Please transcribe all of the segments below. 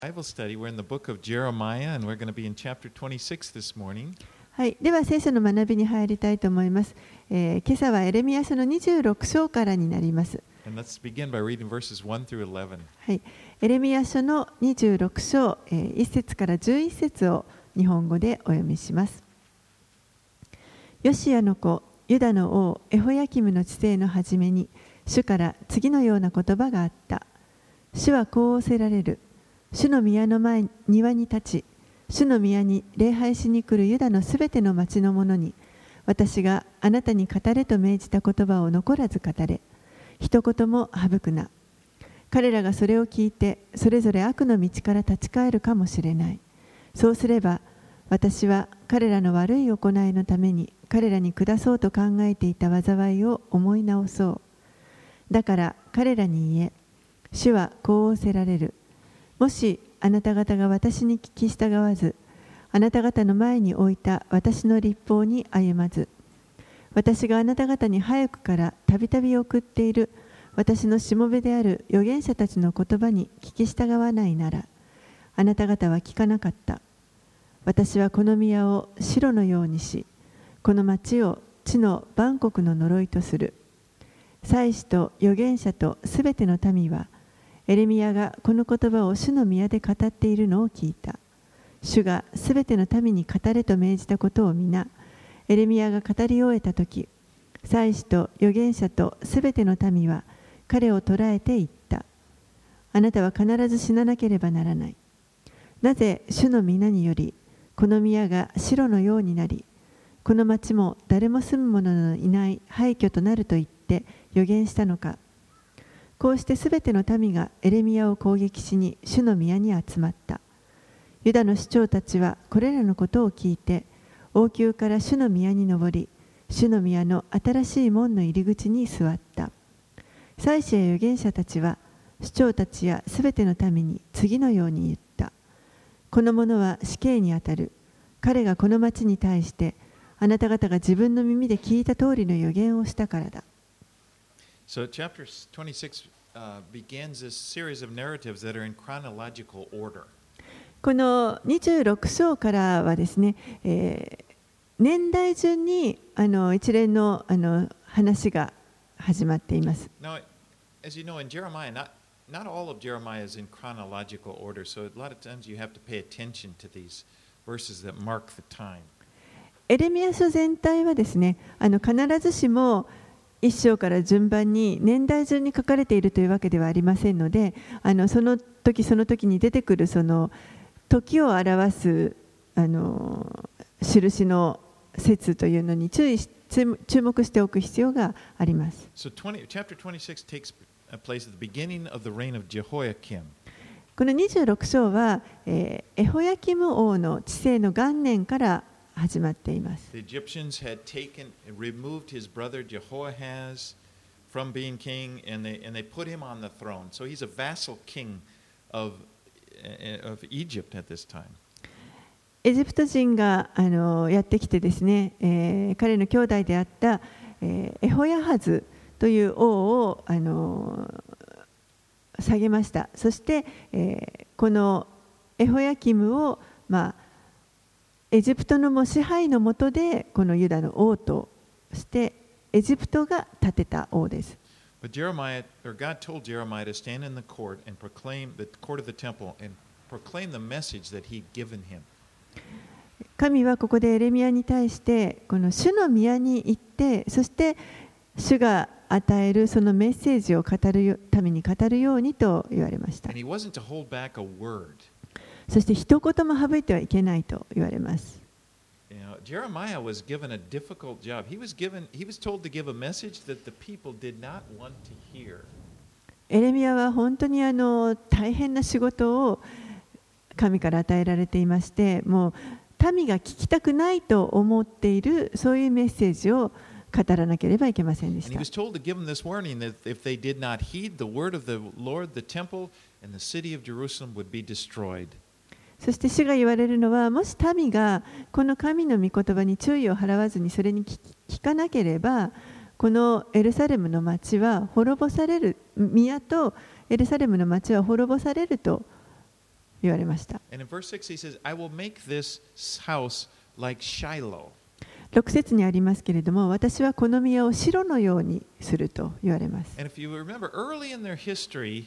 Bible study. We're in the book of Jeremiah, and we're going to be in chapter 26 this morning. はい、では聖書の学びに入りたいと思います。今朝はエレミヤ書の26章からになります。 And let's begin by reading verses 1 through 11. はい、エレミヤ書の26章、1節から11節を日本語でお読みします。ヨシアの子、ユダの王エホヤキムの治世の初めに、主から次のような言葉があった。主はこう仰せられる。主の宮の庭に立ち、主の宮に礼拝しに来るユダのすべての町の者に、私があなたに語れと命じた言葉を残らず語れ、一言も省くな。彼らがそれを聞いて、それぞれ悪の道から立ち返るかもしれない。そうすれば、私は彼らの悪い行いのために、彼らに下そうと考えていた災いを思い直そう。だから彼らに言え、主はこう仰せられる。もしあなた方が私に聞き従わず、あなた方の前に置いた私の律法に歩まず、私があなた方に早くからたびたび送っている私のしもべである預言者たちの言葉に聞き従わないなら、あなた方は聞かなかった。私はこの宮を白のようにし、この町を地の万国の呪いとする。祭司と預言者とすべての民は、エレミヤがこの言葉を主の宮で語っているのを聞いた。主がすべての民に語れと命じたことを皆、エレミヤが語り終えたとき、祭司と預言者とすべての民は彼を捕らえて言った。あなたは必ず死ななければならない。なぜ主の皆により、この宮が白のようになり、この町も誰も住む者のいない廃墟となると言って預言したのか。こうしてすべての民がエレミヤを攻撃しに主の宮に集まった。ユダの首長たちはこれらのことを聞いて、王宮から主の宮に上り、主の宮の新しい門の入り口に座った。祭司や預言者たちは、首長たちやすべての民に次のように言った。この者は死刑にあたる。彼がこの町に対して、あなた方が自分の耳で聞いた通りの預言をしたからだ。 So, chapter 26 begins this series of narratives that are in chronological order. この26章からはですね、年代順に一連の話が始まっています。 Now, as you know, in Jeremiah, not all of Jeremiah is in chronological order, so a lot of times you have to pay attention to these verses that mark the time. エレミヤ書全体はですね、必ずしも一章から順番に年代順に書かれているというわけではありませんので、その時その時に出てくるその時を表す印の説というのに注目しておく必要があります。 So chapter 26 takes place at the beginning of the reign of Jehoiakim. この26章は、エホヤキム王の治世の元年から始まっています。 The Egyptians had removed his brother Jehoahaz from being king, and they put him on the throne. So he's a vassal king of Egypt at this time. エジプト人がやってきてですね、彼の兄弟であったエホヤハズという王を下げました。そして、このエホヤキムをエジプトの支配の下でこのユダの王としてエジプトが建てた王です。 But God told Jeremiah to stand in the court and proclaim the court of the temple and proclaim the message that He'd given him. 神はここでエレミヤに対してこの主の宮に行って、そして主が与えるそのメッセージを民に語るようにと言われました。 And he wasn't to hold back a word. そして一言も省いてはいけないと言われます。 Jeremiah was given a difficult job. He was told to give a message that the people did not want to hear. エレミヤは本当に大変な仕事を神から与えられていまして、もう民が聞きたくないと思っているそういうメッセージを語らなければいけませんでした。 And he was told to give them this warning that if they did not heed the word of the Lord, the temple and the city of Jerusalem would be destroyed. そして主が言われるのは、もし民がこの神の御言葉に注意を払わずにそれに聞かなければ、このエルサレムの町は滅ぼされる、宮とエルサレムの町は滅ぼされると言われました。 And in verse 6 he says, I will make this house like Shiloh. 6節にありますけれども、私はこの宮を城のようにすると言われます。 And if you remember, early in their history,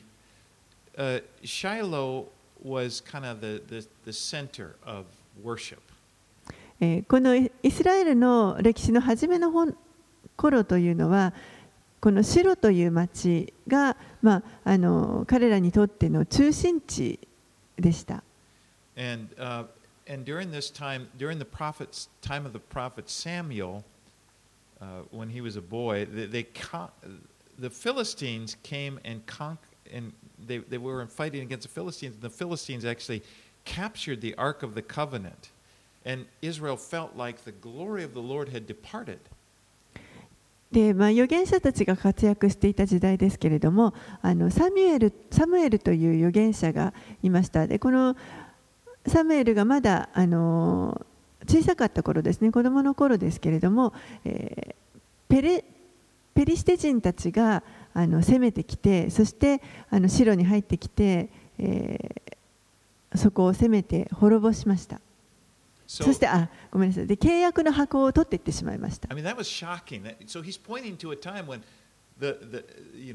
Shiloh was kind of the center of worship. このイスラエルの歴史の初めの頃というのは、このシロという町が、彼らにとっての中心地でした。 And during this time, during the time of the prophet Samuel, when he was a boy, the Philistines came and they were fighting against the Philistines. The Philistines actually captured the Ark of the Covenant, and Israel felt like the glory of the Lord had departed. で預言者たちが活躍していた時代ですけれども、サムエルという預言者がいました。でこのサムエルがまだ小さかった頃ですね、子供の頃ですけれども、ペリシテ人たちが攻めてきて、そして城に入ってきて、そこを攻めて滅ぼしました。そしてごめんなさい。で契約の箱を取っていってしまいました。 I mean, that was shocking. So he's pointing to a time when it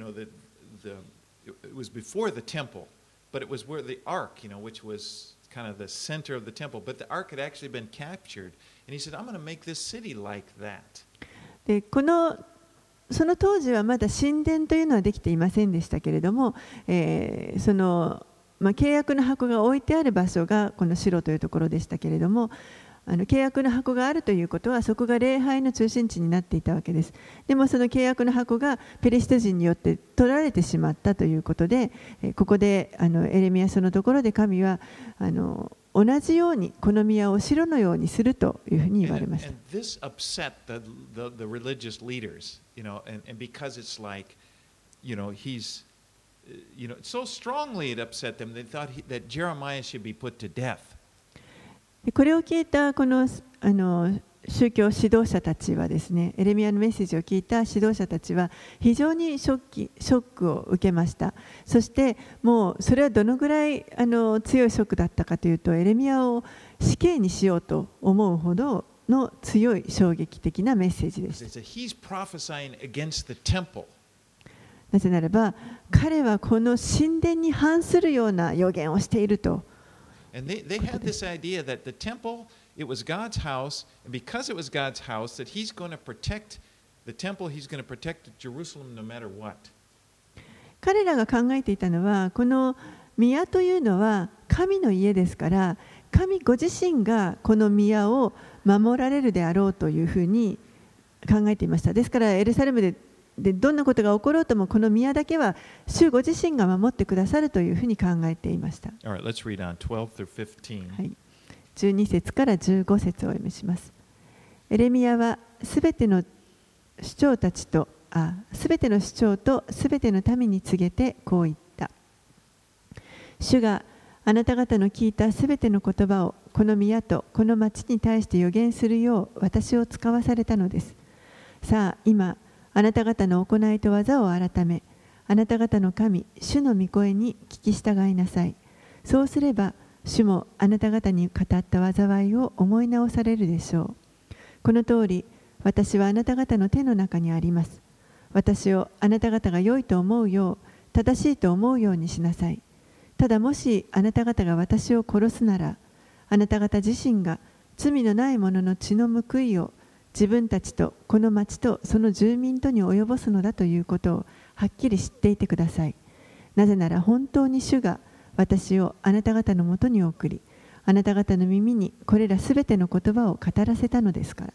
was before the temple, but it was where the ark, which was kind of the center of the temple, but the ark had actually been captured, and he said, "I'm going to make this city like that." でその当時はまだ神殿というのはできていませんでしたけれども、契約の箱が置いてある場所がこのシロというところでしたけれども、契約の箱があるということはそこが礼拝の中心地になっていたわけです。でもその契約の箱がペリシテ人によって取られてしまったということで、ここでエレミヤ書のところで神は同じようにこの宮を城のようにするというふうに言われました。 And this upset the religious leaders, and because it's like, he's, so strongly it upset them, they thought that Jeremiah should be put to death. これを聞いたこの宗教指導者たちはですね、エレミヤのメッセージを聞いた指導者たちは非常にショックを受けました。そしてもうそれはどのぐらい強いショックだったかというと、エレミヤを死刑にしようと思うほどの強い衝撃的なメッセージでした。 He's prophesying against the temple. なぜならば彼はこの神殿に反するような予言をしていると。 And they had this idea that the temple, it was God's house, and because it was God's house, that He's going to protect the temple, He's going to protect Jerusalem no matter what. 彼らが考えていたのは、この宮というのは神の家ですから、神ご自身がこの宮を守られるであろうというふうに考えていました。ですからエルサレムでどんなことが起ころうともこの宮だけは主ご自身が守ってくださるというふうに考えていました。 Alright, let's read on 12 through 15. はい、12節から15節をお読みします。エレミヤはすべての首長とすべての民に告げてこう言った。主があなた方の聞いたすべての言葉をこの宮とこの町に対して予言するよう私を使わされたのです。さあ今あなた方の行いと技を改め、あなた方の神、主の御声に聞き従いなさい。そうすれば、主もあなた方に語った災いを思い直されるでしょう。この通り、私はあなた方の手の中にあります。私をあなた方が良いと思うよう、正しいと思うようにしなさい。ただもしあなた方が私を殺すなら、あなた方自身が罪のない者の血の報いを自分たちとこの町とその住民とに及ぼすのだということをはっきり知っていてください。なぜなら本当に主が私をあなた方のもとに送り、あなた方の耳にこれらすべての言葉を語らせたのですから。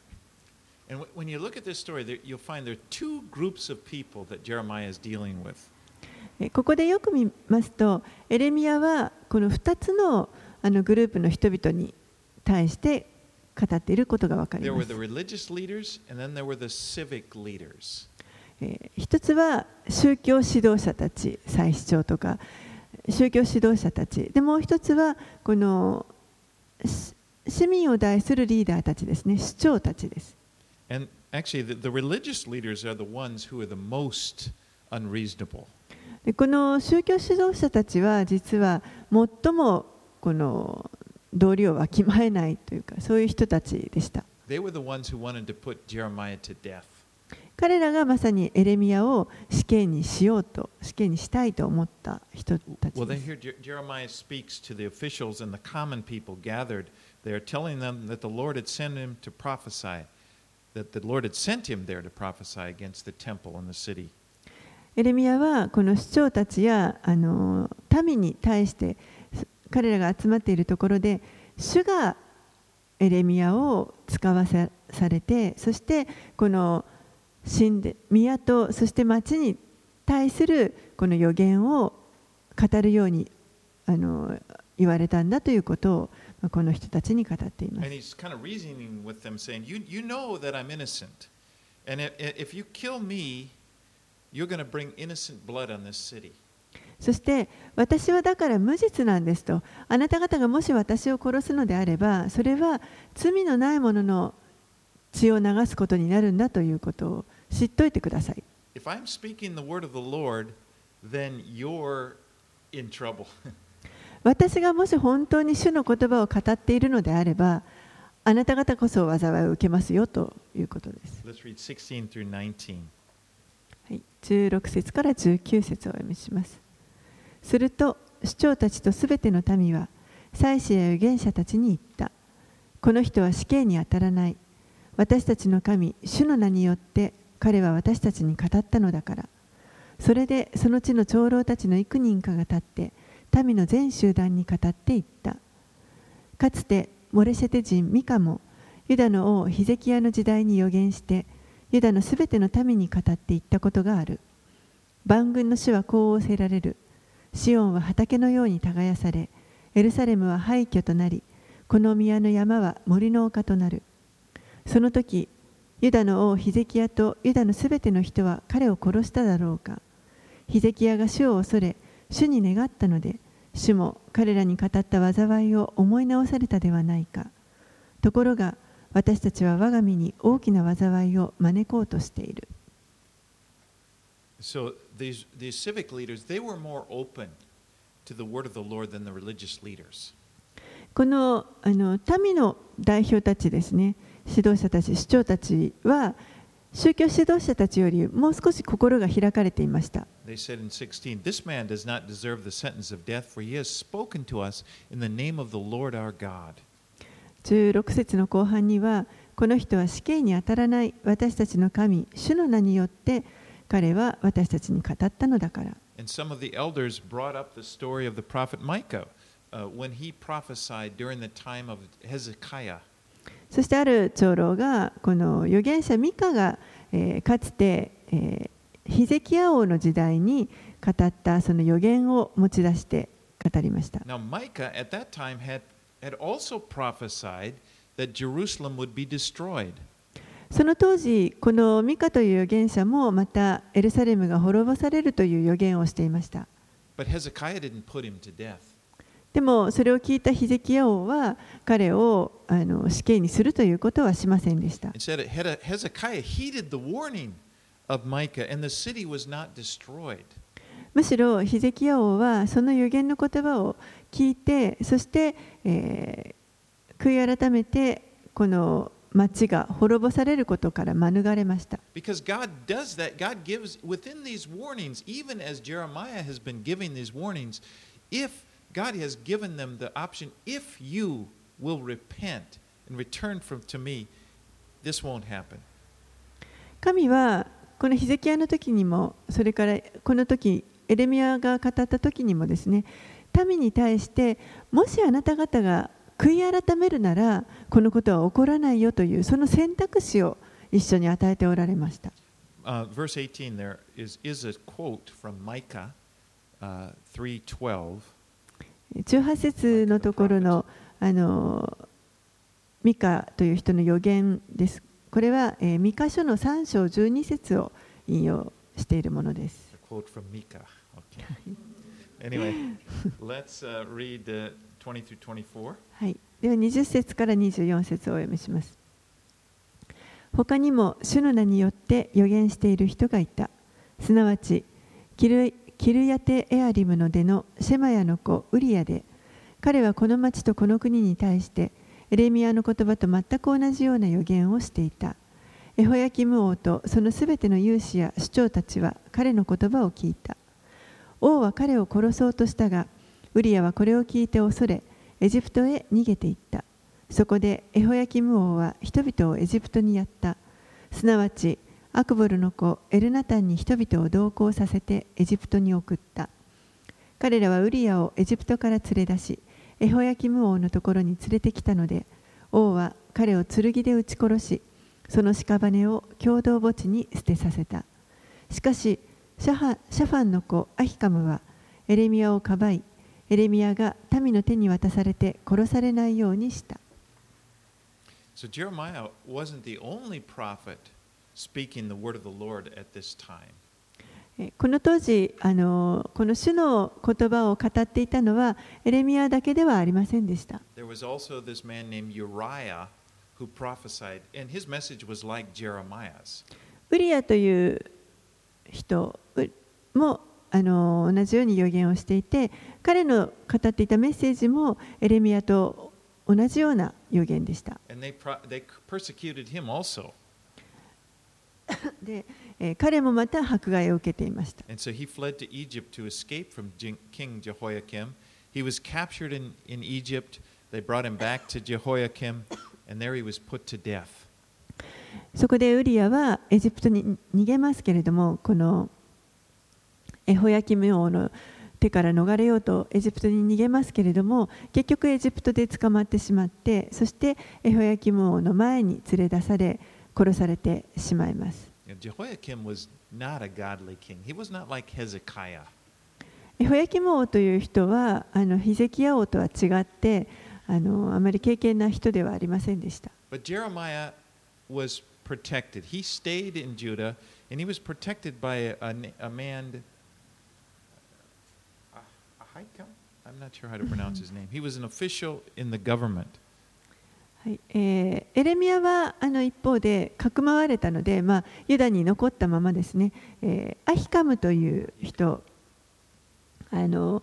When you look at this story, you'll find there are two groups of people that Jeremiah is dealing with. ここでよく見ますと、エレミヤはこの2つのグループの人々に対して語っていることが分かります。一つは宗教指導者たち、祭司長とか宗教指導者たちで、もう一つはこの市民を代するリーダーたちですね、首長たちです。 And actually, the religious leaders are the ones who are the most unreasonable. この宗教指導者たちは実は最もこの道理をわきまえないというか、そういう人たちでした。 They were the ones who wanted to put Jeremiah to death. 彼らがまさにエレミヤを死刑にしようと、死刑にしたいと思った人たち Well, で they す。 hear Jeremiah speaks to the officials and the common people gathered. They are telling them that the Lord had sent him to prophesy, that the Lord had sent him there to prophesy against the temple and the city. エレミヤはこの首長たちや民に対して彼らが集まっているところで、主がエレミヤを使わされて、そしてこの宮とそして町に対するこの予言を語るように言われたんだということをこの人たちに語っています。 And he's kind of reasoning with them, saying, You know that I'm innocent. And if you kill me, you're going to bring innocent blood on this city. そして私はだから無実なんですと。あなた方がもし私を殺すのであれば、それは罪のない者の血を流すことになるんだということを知っておいてください。 If I'm speaking the word of the Lord, then you're in trouble. 私がもし本当に主の言葉を語っているのであれば、あなた方こそ災いを受けますよということです。 Let's read 16 through 19. はい、16節から19節をお読みします。すると首長たちとすべての民は祭司や預言者たちに言った。この人は死刑に当たらない。私たちの神、主の名によって彼は私たちに語ったのだから。それでその地の長老たちの幾人かが立って民の全集団に語っていった。かつてモレシェテ人ミカもユダの王ヒゼキヤの時代に預言してユダのすべての民に語っていったことがある。万軍の主はこう仰せられる。シオンは畑のように耕され、エルサレムは廃墟となり、この宮の山は森の丘となる。その時、ユダの王ヒゼキヤとユダのすべての人は彼を殺しただろうか。ヒゼキヤが主を恐れ、主に願ったので、主も彼らに語った災いを思い直されたではないか。ところが、私たちは我が身に大きな災いを招こうとしている。 So these civic leaders, they were more open to the word of the Lord than the religious leaders. この民の代表たちですね、指導者たち、首長たちは宗教指導者たちよりもう少し心が開かれていました。 They said in 16, This man does not deserve the sentence of death, for he has spoken to us in the name of the Lord our God. 16節の後半には、この人は死刑に当たらない私たちの神、主の名によって彼は私たちに語ったのだから。 And some of the elders brought up the story of the prophet Micah when he prophesied during the time of Hezekiah. そしてある長老がこの預言者ミカが、かつて、ヒゼキヤ王の時代に語ったその預言を持ち出して語りました。 Now Micah at that time had also prophesied that Jerusalem would be destroyed. その当時、このミカという預言者もまたエルサレムが滅ぼされるという預言をしていました。 But Hezekiah didn't put him to death. でもそれを聞いたヒゼキヤ王は彼を死刑にするということはしませんでした。 Instead, Hezekiah heeded the warning of Micah, and the city was not destroyed. むしろヒゼキヤ王はその預言の言葉を聞いて、そして、悔い改めてこの町が滅ぼされることから免れました。 Because God does that. God gives within these warnings, even as Jeremiah has been giving these warnings, if God has given them the option, if you will repent and return to me, this won't happen. 神はこのヒゼキヤの時にも、それからこの時エレミヤが語った時にもですね、民に対してもしあなた方が悔い改めるならこのことは起こらないよというその選択肢を一緒に与えておられました。 Verse 18 there is a quote from Micah 3:12. 18節のところのミカという人の預言です。これはミカ書の3章12節を引用しているものです。 A quote from Micah. Okay. Anyway, let's read 20 through 24. はい。では20節から24節をお読みします。他にも主の名によって預言している人がいた。すなわちキルヤテエアリムの出のシェマヤの子ウリヤで、 彼はこの町とこの国に対してエレミヤの言葉と全く同じような予言をしていた。エホヤキム王とそのすべての勇士や首長たちは彼の言葉を聞いた。王は彼を殺そうとしたが、ウリアはこれを聞いて恐れ、エジプトへ逃げていった。そこでエホヤキム王は人々をエジプトにやった。すなわちアクボルの子エルナタンに人々を同行させてエジプトに送った。彼らはウリアをエジプトから連れ出し、エホヤキム王のところに連れてきたので、王は彼を剣で撃ち殺し、その屍を共同墓地に捨てさせた。しかしシャファンの子アヒカムはエレミヤをかばい、エレミヤが民の手に渡されて殺されないようにした。 So Jeremiah wasn't the only prophet speaking the word of the Lord at this time. この当時、この主の言葉を語っていたのはエレミヤだけではありませんでした。 There was also this man named Uriah who prophesied, and his message was like Jeremiah's. ウリアという人も同じように予言をしていて、彼の語っていたメッセージもエレミヤと同じような予言でした。 And they persecuted him also. で、彼もまた迫害を受けていました。 And so he fled to Egypt to escape from King Jehoiakim. He was captured in Egypt. They brought him back to Jehoiakim, and there he was put to death. そこでウリアはエジプトに逃げますけれども、このエホヤキム王の手から逃れようとエジプトに逃げますけれども、結局エジプトで捕まってしまって、そしてエホヤキム王の前に連れ出され殺されてしまいます。 Jehoiakim was not a godly king. He was not like Hezekiah. エホヤキム王という人はヒゼキヤ王とは違ってあまり敬虔な人ではありませんでした。 But Jeremiah was protected. He stayed in Judah, and he was protected by a man, Ahikam? I'm not sure how to pronounce his name. He was an official in the government. エレミヤは一方でかくまわれたので、ユダに残ったままですね。アヒカムという人、政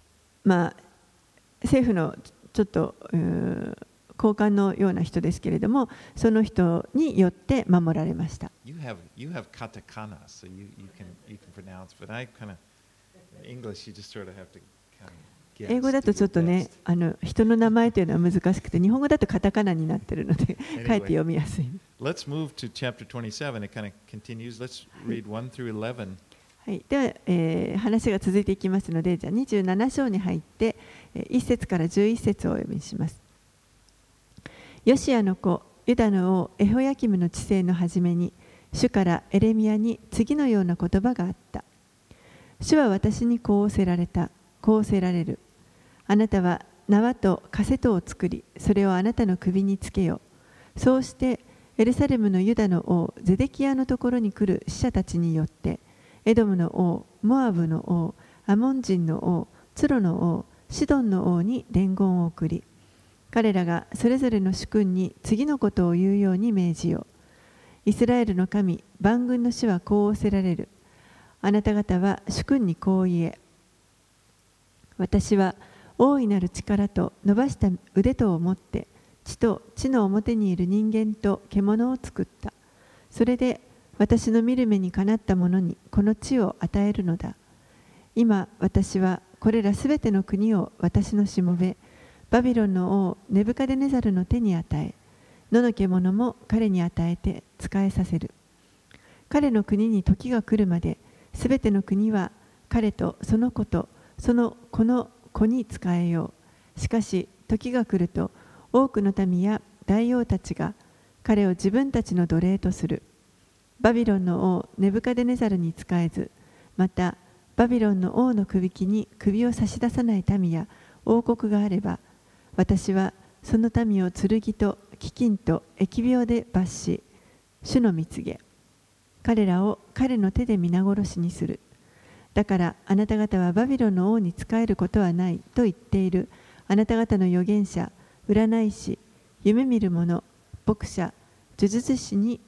府のちょっと高官のような人ですけれども、その人によって守られました。 You have katakana, so you can pronounce, but I kind of English you just sort of have to kind of guess. 英語だとちょっとね、人の名前というのは難しくて、日本語だとカタカナになっているので、書いて読みやすい。 Let's move to chapter 27. It kind of continues. Let's read 1 through 11. はい、では、話が続いていきますので、じゃあ27章に入って1節から11節をお読みします。ヨシアの子ユダの王エホヤキムの治世の初めに、主からエレミヤに次のような言葉があった。主は私にこう仰せられた。こう仰せられる。あなたは縄とカセトを作り、それをあなたの首につけよ。そうしてエルサレムのユダの王ゼデキヤのところに来る使者たちによって、エドムの王、モアブの王、アモン人の王、ツロの王、シドンの王に伝言を送り、彼らがそれぞれの主君に次のことを言うように命じよ。イスラエルの神、万軍の主はこう仰せられる。あなた方は主君にこう言え。私は大いなる力と伸ばした腕とを持って、地と地の表にいる人間と獣を作った。それで私の見る目にかなった者にこの地を与えるのだ。今私はこれらすべての国を私のしもべ、バビロンの王ネブカデネザルの手に与え、野の獣も彼に与えて仕えさせる。彼の国に時が来るまで、すべての国は彼とその子とその子の子に仕えよう。しかし時が来ると、多くの民や大王たちが彼を自分たちの奴隷とする。バビロンの王ネブカデネザルに仕えず、またバビロンの王の首輝に首を差し出さない民や王国があれば、私はその民を剣と飢饉と疫病で罰し、主の蜜げ、彼らを彼の手で皆殺しにする。だからあなた方はバビロンの王に仕えることはないと言っているあなた方の預言者、占い師、夢見る者、牧者、呪術者に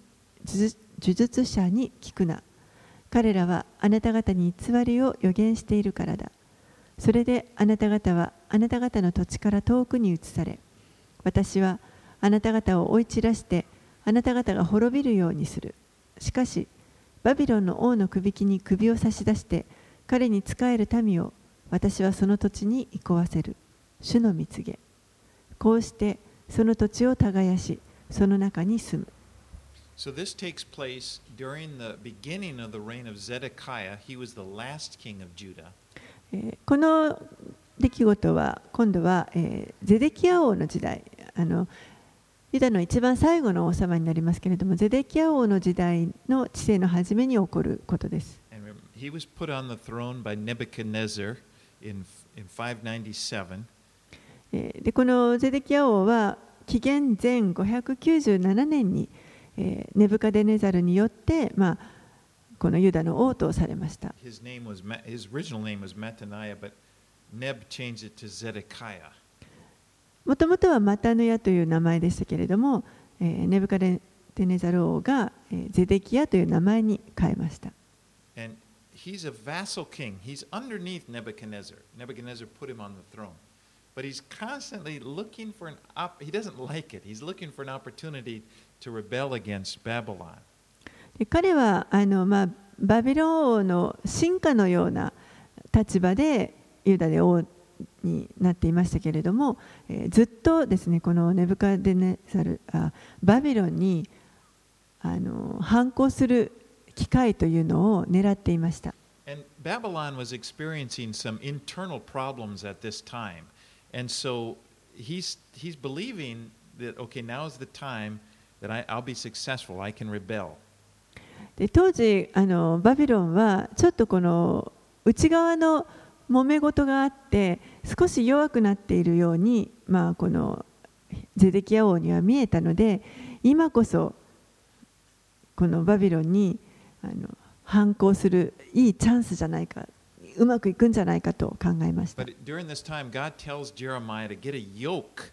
聞くな。彼らはあなた方に偽りを預言しているからだ。それであなた方はあなた方の土地から遠くに移され、私はあなた方を追い散らしてあなた方が滅びるようにする。しかしバビロンの王のくびきに首を差し出して彼に仕える民を私はその土地に憩わせる。主の蜜げ。こうしてその土地を耕し、その中に住む。 So this takes place during the beginning of the reign of Zedekiah. He was the last king of Judah. この出来事は今度はゼデキヤ王の時代、ユダの一番最後の王様になりますけれども、ゼデキヤ王の時代の治世の初めに起こることです。 And he was put on the throne by Nebuchadnezzar in 597. でこのゼデキヤ王は紀元前597年にネブカデネザルによって、このユダの王とされました。 His original name was Mattaniah, but Neb changed it to Zedekiah. もともとはマタヌヤという名前でしたけれども、ネブカデネザル王がゼデキヤという名前に変えました。 And he's a vassal king. He's underneath Nebuchadnezzar. Nebuchadnezzar put him on the throne. But he's constantly looking for he doesn't like it. He's looking for an opportunity to rebel against Babylon. 彼はバビロン王の臣下のような立場でユダで王になっていましたけれども、ずっとですね、このネブカデネザルバビロンに反抗する機会というのを狙っていました。 And Babylon was experiencing some internal problems at this time. And so he's believing that, okay, now is the time that I'll be successful. I can rebel. で当時バビロンはちょっとこの内側の揉め事があって少し弱くなっているように、このゼデキヤ王には見えたので、今こそこのバビロンに反抗するいいチャンスじゃないか、うまくいくんじゃないかと考えました。 But during this time, God tells Jeremiah to get a yoke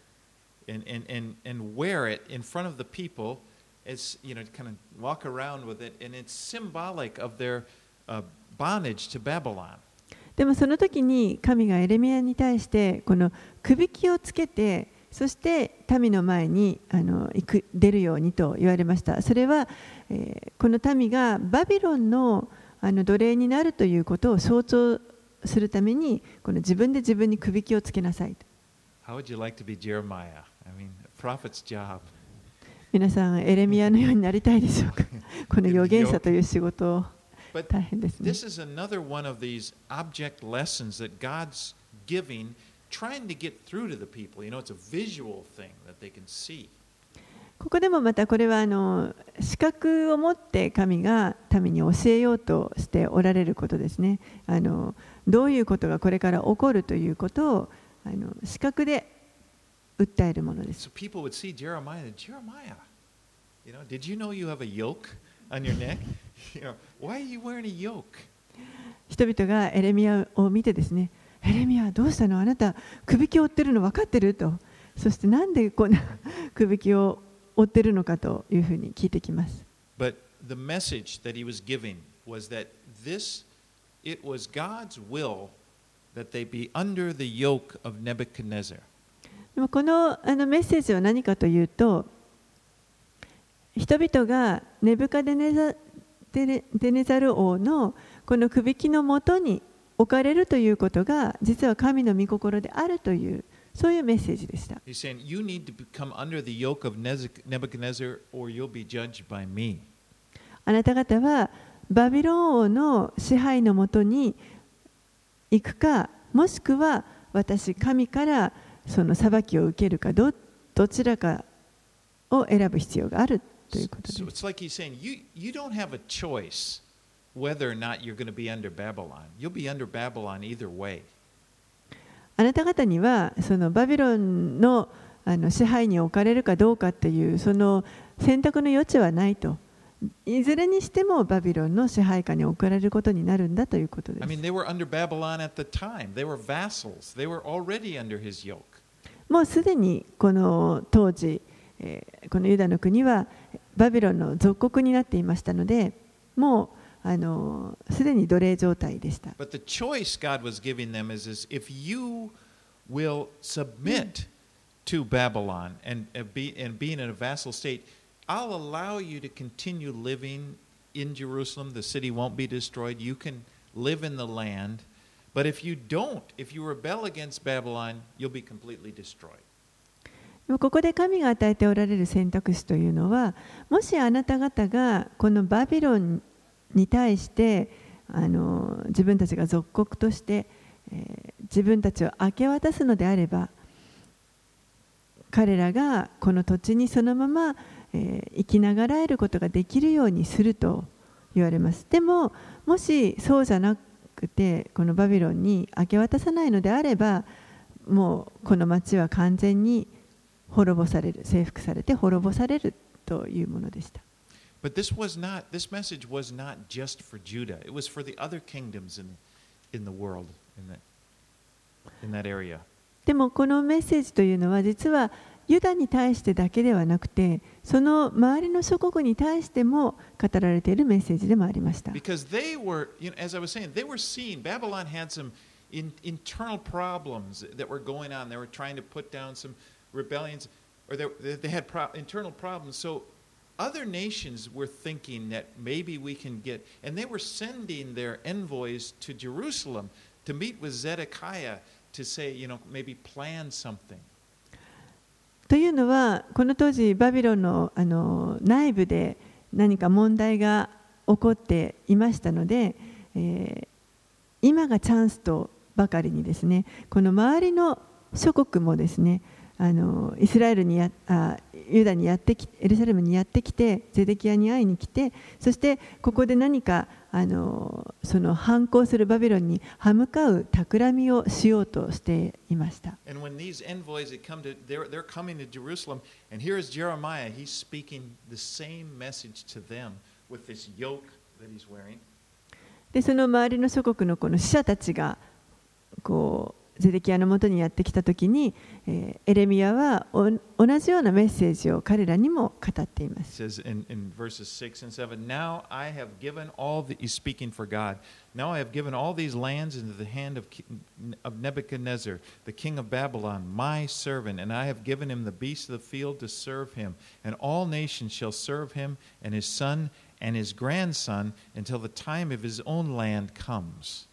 and wear it in front of the people, as you know, to kind of walk around with it, and it's symbolic of their bondage to Babylon. でもその時に神がエレミヤに対してこのくびきをつけて、そして民の前に出るようにと言われました。それは、この民がバビロンの奴隷になるということを象徴するために、この自分で自分にくびきをつけなさい。 How would you like to be Jeremiah? I mean, a prophet's job. 皆さん、エレミヤのようになりたいでしょうか。この預言者という仕事を大変ですね。 This is another one of these object lessons that God's giving, trying to get through to the people. You know, it's a visual thing that they can see. ここでもまたこれは視覚を持って神が民に教えようとしておられることですね。どういうことがこれから起こるということを視覚で訴えるものです。 So people would see Jeremiah, you know, did you know you have a yoke on your neck? You know, why are you wearing a yoke? 人々がエレミヤを見てですね、エレミヤどうしたの？あなたくびきを負ってるの分かってると。そしてなんでこんなくびきを負ってるのかというふうに聞いてきます。 But the message that he was giving was that it was God's will that they be under the yoke of Nebuchadnezzar. でもこのメッセージは何かというと、人々がネブカデネザル王のこのくびきのもとに置かれるということが実は神の御心であるという、そういうメッセージでした。 He's saying, you need to become under the yoke of Nebuchadnezzar or you'll be judged by me. あなた方はバビロン王の支配のもとに行くか、もしくは私神からその裁きを受けるか、どちらかを選ぶ必要があるということです。 So it's like he's saying, you don't have a choice whether or not you're going to be under Babylon. You'll be under Babylon either way. あなた方にはそのバビロンの支配に置かれるかどうかっていうその選択の余地はないと。いずれにしてもバビロンの支配下に置かれることになるんだということです。 I mean, they were under Babylon at the time. They were vassals. They were already under his yoke. もうすでにこの当時、このユダの国はバビロンの属国になっていましたので、もうすでに奴隷状態でした。 But the choice God was giving them is if you will submit to Babylon and being in a vassal state, I'll allow you to continue living in Jerusalem. The city won't be destroyed. You can live in the land. But if you don't, if you rebel against Babylon, you'll be completely destroyed. ここで神が与えておられる選択肢というのは、もしあなた方がこのバビロンに対して自分たちが属国として、自分たちを明け渡すのであれば、彼らがこの土地にそのまま、生きながらえることができるようにすると言われます。でも、もしそうじゃなくてこのバビロンに明け渡さないのであれば、もうこの町は完全に滅ぼされる、征服されて滅ぼされるというものでした。 But this message was not just for Judah. It was for the other kingdoms in the world, in that area. でもこのメッセージというのは実はユダに対してだけではなくて、その周りの諸国に対しても語られているメッセージでもありました。 Because they were, as I was saying, they were seeing Babylon had some internal problems that were going on. They were trying to put down some rebellions, or they had internal problems. So other nations were thinking that maybe we can get, and they were sending their envoys to Jerusalem to meet with Zedekiah to say, maybe plan something. というのは、この当時バビロンの内部で何か問題が起こっていましたので、今がチャンスとばかりにですね、この周りの諸国もですね、イスラエルにユダにエルサレムにやってきて、ゼデキヤに会いに来て、そしてここで何かその反抗するバビロンに歯向かう企みをしようとしていました。 And when these envoys had come to, they're coming to Jerusalem, and here is Jeremiah. He's speaking the same message to them with this yoke that he's wearing. で、その周りの諸国のこの使者たちがゼデキヤのもとにやってきたときに、エレミヤは同じようなメッセージを彼らにも語っています。 It says in verses 6 and 7, Now I have given he's speaking for God. Now I have given all these lands into the hand of Nebuchadnezzar, the king of Babylon, my servant, and I have given him the beasts of the field to serve him, and all nations shall serve him, and his son and his grandson, until the time of his own land comes.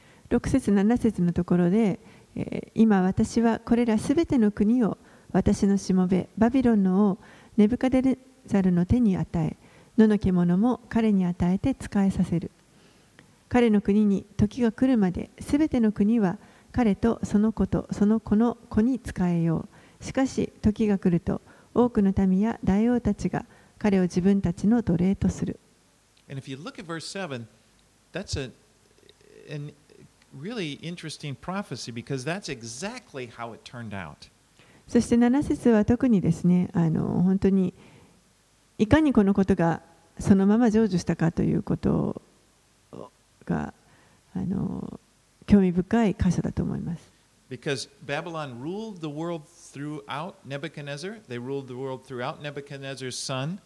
6節7節のところで、今私はこれらすべての国を私のしもべバビロンの王ネブカデネザルの手に与え、野の獣も彼に与えて仕えさせる。彼の国に時が来るまで、すべての国は彼とその子とその子の子に仕えよう。しかし時が来ると、多くの民や大王たちが彼を自分たちの奴隷とする。 And if you look at verse 7, that's an really interesting prophecy because that's exactly how it turned out. そして7節は特にですね、本当にいかにこのことがそのまま成就したかということが興味深い箇所だと思います。 Because Babylon ruled the world throughout Nebuchadnezzar, they ruled the world throughout Nebuchadnezzar's son.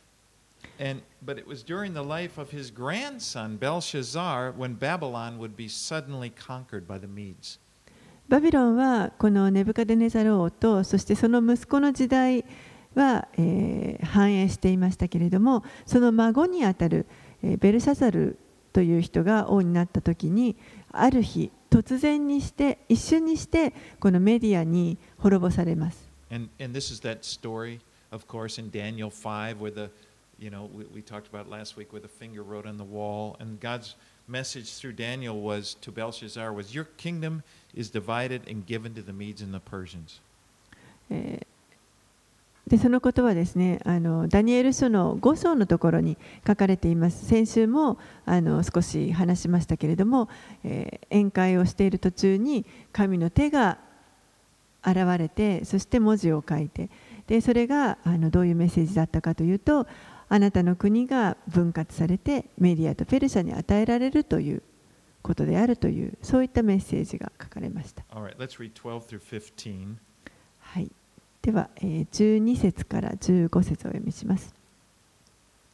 But it was during the life of his grandson Belshazzar when Babylon would be suddenly conquered by the Medes. バビロンはこのネブカデネザル王とそしてその息子の時代は、繁栄していましたけれども、その孫にあたる、ベルシャザルという人が王になった時に、ある日突然にして一瞬にしてこのメディアに滅ぼされます。 And this is that story, of course, in Daniel 5 where we talked about last week where the finger wrote on the wall, and God's message through Daniel was to Belshazzar was, Your kingdom is divided and given to the Medes and the Persians. でそのことはですね、ダニエル書の5章のところに書かれています。先週も少し話しましたけれども、宴会をしている途中に神の手が現れて、そして文字を書いて、でそれがどういうメッセージだったかというと、あなたの国が分割されてメディアとペルシャに与えられるということであるという、そういったメッセージが書かれました。 Alright, let's read 12 through 15. はい。では、12節から15節をお読みします。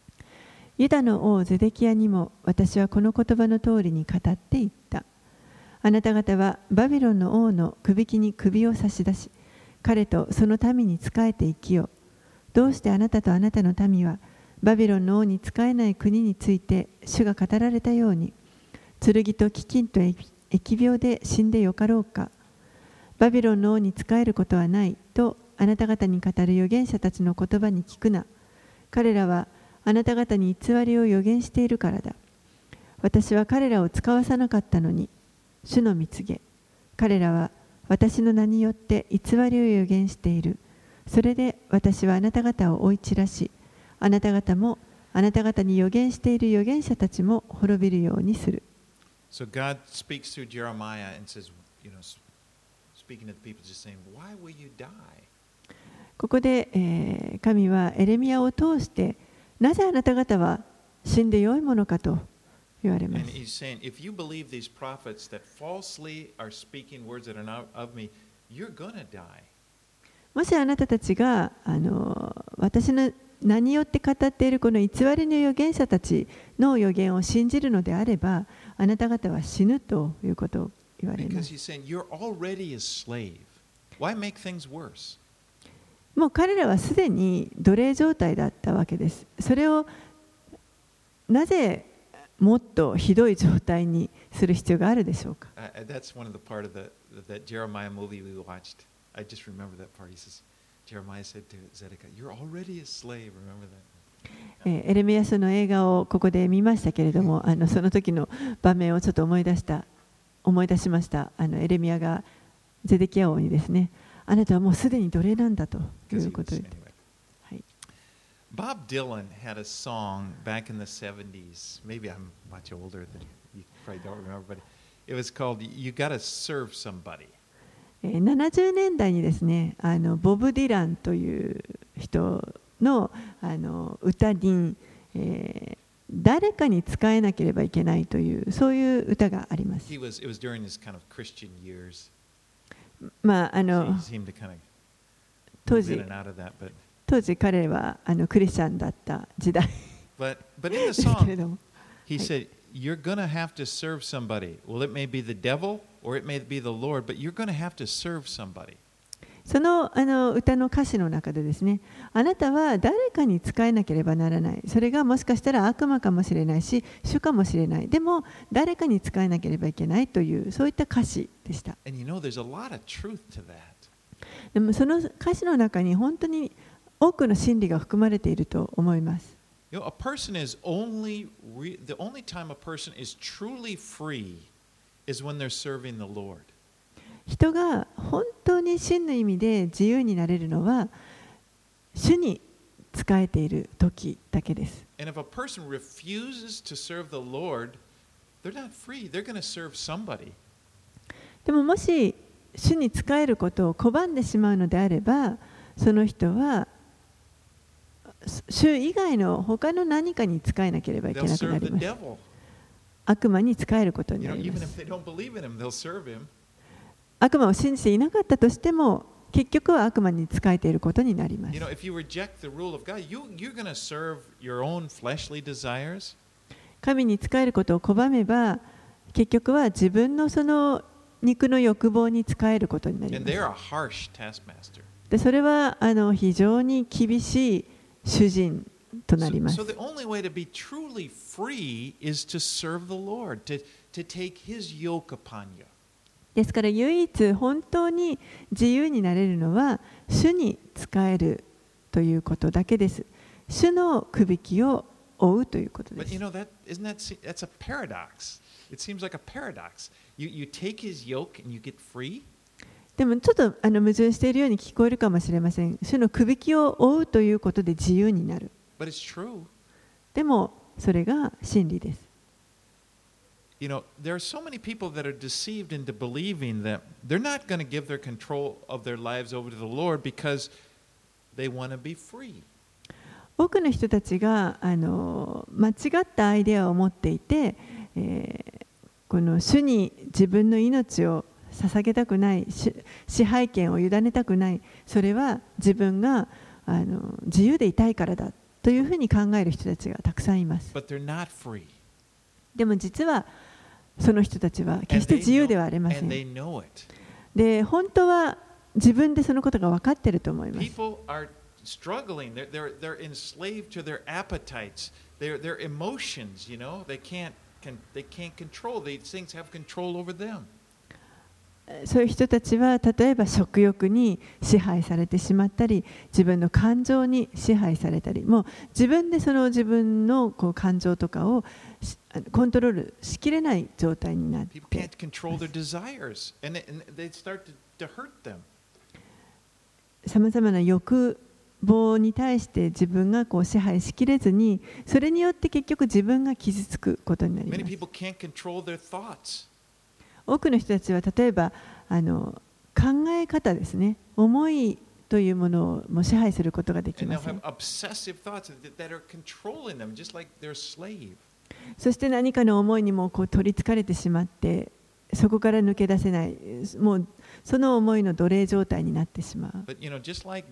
ユダの王ゼデキヤにも私はこの言葉の通りに語っていった。 あなた方はバビロンの王の首輝に首を差し出し、彼とその民に仕えて生きよう。どうしてあなたとあなたの民はバビロンの王に仕えない国について主が語られたように、剣と飢饉と疫病で死んでよかろうか。バビロンの王に仕えることはないとあなた方に語る預言者たちの言葉に聞くな。彼らはあなた方に偽りを預言しているからだ。私は彼らを使わさなかったのに、主の蜜げ。彼らは私の名によって偽りを預言している。それで私はあなた方を追い散らし、あなた方もあなた方に預言している預言者たちも滅びるようにする。 So God speaks through Jeremiah and says, speaking to the people, just saying, "Why will you die?" ここで、神はエレミヤを通して、なぜあなた方は死んでよいものかと言われます。 And he's saying, if you believe these prophets that falsely are speaking words that are not of me, you're gonna die. もしあなたたちが私の名によって語っているこの偽りの預言者たちの預言を信じるのであれば、あなた方は死ぬということを言われます。 Because he's saying, you're already a slave. Why make things worse? もう彼らはすでに奴隷状態だったわけです。それをなぜもっとひどい状態にする必要があるでしょうか。 That's one of the part of that Jeremiah movie we watched. I just remember that part. He says, Jeremiah said to Zedekiah, "You're already a slave." Remember that? エレミヤ書の映画をここで見ましたけれども、その時の場面をちょっと思い出しました。エレミヤがゼデキヤ王にですね、あなたはもうすでに奴隷なんだということを言って。はい、 Bob Dylan had a song back in the 70s. Maybe I'm much older than you probably don't remember, but it was called "You Gotta Serve Somebody." 70年代にですね、ボブ・ディランという人の歌に、誰かに仕えなければいけないというそういう歌があります。 It was during his kind of Christian years. まあ当時彼はクリスチャンだった時代。 But in the song, he said, "You're gonna have to serve somebody. Well, it may be the devil, or it may be the Lord, but you're gonna have to serve somebody." その歌の歌詞の中でですね、あなたは誰かに仕えなければならない。それがもしかしたら悪魔かもしれないし、主かもしれない。でも誰かに仕えなければいけないというそういった歌詞でした。 And there's a lot of truth to that. でもその歌詞の中に本当に多くの真理が含まれていると思います。 A person is the only time a person is truly free is when they're serving the Lord. 人が本当に真の意味で自由になれるのは主に仕えている時だけです。 And if a person refuses to serve the Lord, they're not free. They're going to serve somebody. でももし主に仕えることを拒んでしまうのであれば、その人は主以外の他の何かに仕えなければいけなくなります。悪魔に仕えることになります。悪魔を信じていなかったとしても、結局は悪魔に仕えていることになります。神に仕えることを拒めば、結局は自分のその肉の欲望に仕えることになります。で、それは非常に厳しい主人となります。 So the only way to be truly free is to serve the Lord, to take His yoke upon you. ですから唯一本当に自由になれるのは主に仕えるということだけです。主のくびきを追うということです。 But that's a paradox. It seems like a paradox. You take His yoke and you get free. でもちょっと矛盾しているように聞こえるかもしれません。主のくびきを追うということで自由になる。 But it's true. でもそれが真理です。 There are so many people that are deceived into believing that they're not going to give their control of their lives over to the Lord because they want to be free. 多くの人たちが間違ったアイデアを持っていて、この主に自分の命を捧げたくない、支配権を委ねたくない、それは自分が自由でいたいからだというふうに考える人たちがたくさんいます。 But they're not free. でも実はその人たちは決して自由ではありませ and ん。 they know it. で、本当は自分でそのことが分かっていると思います。 People are struggling. They're enslaved to their appetites, their emotions. You know, they can't control. These things have control over them. そういう人たちは例えば食欲に支配されてしまったり、自分の感情に支配されたり、もう自分でその自分のこう感情とかをコントロールしきれない状態になって、 People can't control their desires, and they start to hurt them. さまざまな欲望に対して自分がこう支配しきれずに、それによって結局自分が傷つくことになりま Many す。 people can't control their thoughts. 多くの人たちは例えば考え方ですね、思いというものをも支配することができ And ま they'll せ have ん。 obsessive thoughts that are controlling them, just like they're a slave. そして何かの思いにもこう取りつかれてしまって、そこから抜け出せない、もうその思いの奴隷状態になってしまう。 But you know, just like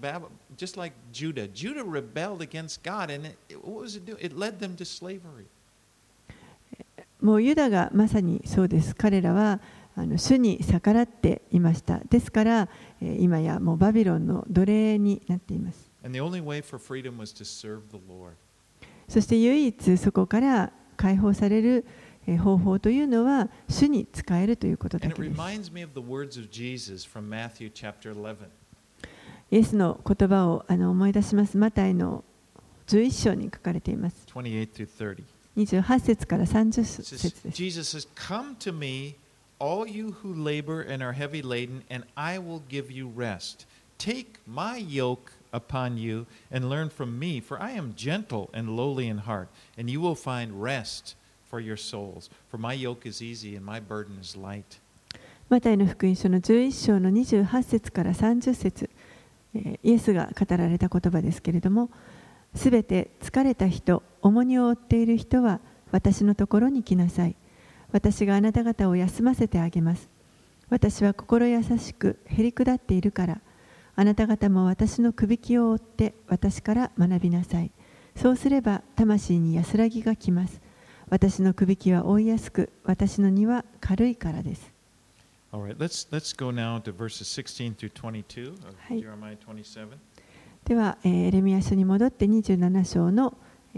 Judah rebelled against God, and what was it do? It led them to slavery. もうユダがまさにそうです。彼らは主に逆らっていました。ですから今やもうバビロンの奴隷になっています。 And the only way for freedom was to serve the Lord. そして唯一そこから解放される方法というのは主に仕えるということだ And け it です。 reminds me of the words of Jesus from Matthew chapter 11. イエスの言葉を思い出します。マタイの11章に書かれています。 28 through 30. 28節から30 It 節 says, です。 Jesus says, Come to me, all you who labor and are heavy laden, and I will give you rest. Take my yoke upon you and learn from me, for I am gentle and lowly in heart, and you will find rest for your souls. For my yoke is easy and my burden is light. マタイの福音書の11章の28節から30節、イエスが語られた言葉ですけれども、すべて疲れた人、重荷を負っている人は私のところに来なさい。私があなた方を休ませてあげます。私は心優しくへり下っているから、あなた方も私のくびきを追って私から学びなさい。そうすれば魂に安らぎがきます。私のくびきは追いやすく、私の荷は軽いからです。 All right, let's go now to verses 16 through 22 of はい。 Jeremiah 27. では、エレミヤ書に戻って27章の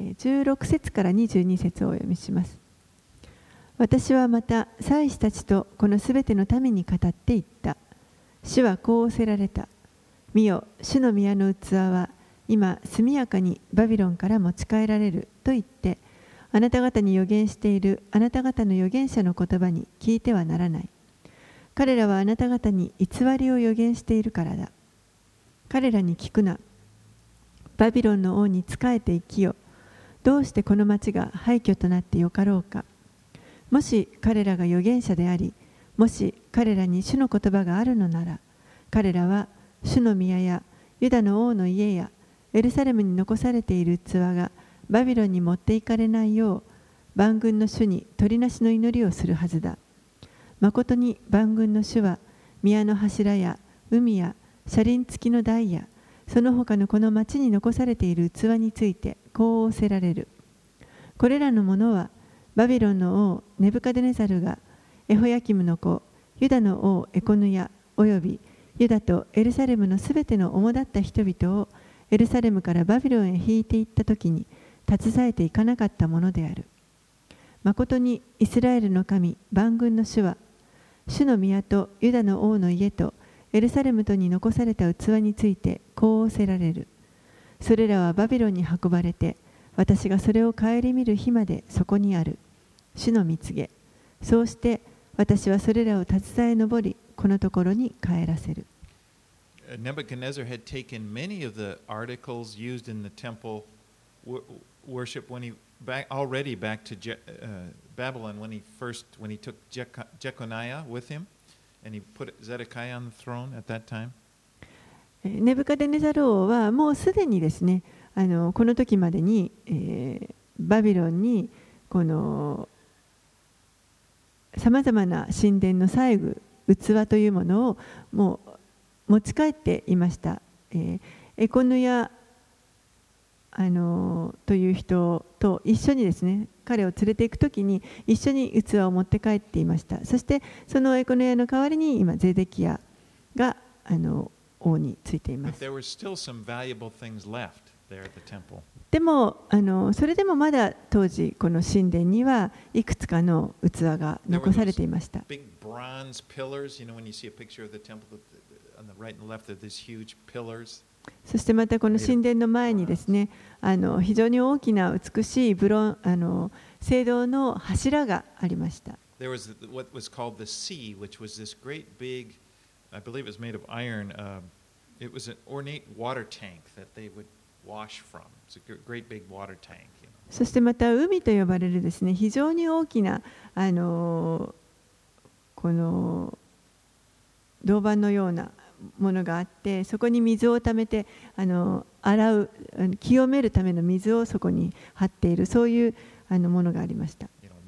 16節から22節をお読みします。私はまた祭司たちとこのすべての民に語っていった。主はこう仰せられた。見よ、主の宮の器は今速やかにバビロンから持ち帰られると言って、あなた方に預言しているあなた方の預言者の言葉に聞いてはならない。彼らはあなた方に偽りを預言しているからだ。彼らに聞くな。バビロンの王に仕えて生きよ。どうしてこの町が廃墟となってよかろうか。もし彼らが預言者であり、もし彼らに主の言葉があるのなら、彼らは主の宮やユダの王の家やエルサレムに残されている器がバビロンに持っていかれないよう、万軍の主に取りなしの祈りをするはずだ。まことに万軍の主は宮の柱や海や車輪付きの台やその他のこの町に残されている器についてこう仰せられる。これらのものはバビロンの王ネブカデネザルがエホヤキムの子ユダの王エコヌヤおよびユダとエルサレムのすべての主だった人々をエルサレムからバビロンへ引いていったときに携えていかなかったものである。まことにイスラエルの神万軍の主は主の宮とユダの王の家とエルサレムとに残された器についてこう仰せられる。それらはバビロンに運ばれて私がそれを顧みる日までそこにある。主の蜜げ。そうして私はそれらを携え上りこのところに帰らせる。 Nebuchadnezzar had taken many of the articles used in the temple worship when he already back to Babylon when he took Jeconiah with him and he put Zedekiah on the throne at that time. ネブカデネザル王はもうすでにですね、この時までに、バビロンにこのさまざまな神殿の細具器というものをもう持ち帰っていました。エコヌヤという人と一緒にですね、彼を連れて行くときに一緒に器を持って帰っていました。そしてそのエコノヤの代わりに今ゼデキヤが王についています。でもそれでもまだ当時この神殿にはいくつかの器が残されていました。そしてまたこの神殿の前にですね、非常に大きな美しい青銅の柱がありました。 There was what was called the sea, which was this great big, I believe it was made of iron. It was an ornate water tank that they would wash from. It's a great big water tank. そしてまた海と呼ばれるですね、非常に大きなこの銅板のようなものがあって、そこに水をためて洗う、清めるための水をそこに張っている、そういうものがありました。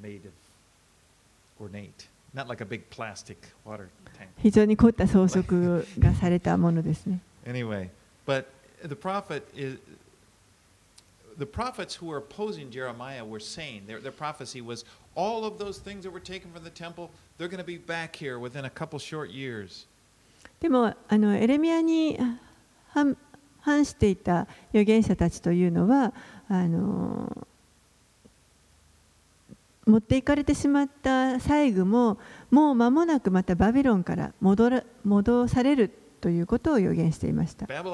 非常に凝った装飾がされたものですね。 Anyway, but the prophets who were opposing Jeremiah were saying, their prophecy was, all of those things that were taken from the temple, they're going to be back here within a couple short years. でもエレミヤに反していた預言者たちというのは持っていかれてしまった細具ももう間もなくまたバビロンから戻されるということを予言していました。バビロ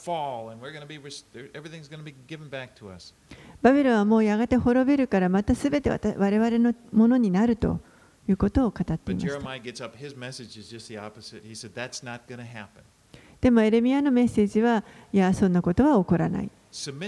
ンはもうやがて滅びるからまたすべて我々のものになるということを語っていました。でもエレミヤのメッセージは、いや、そんなことは起こらない。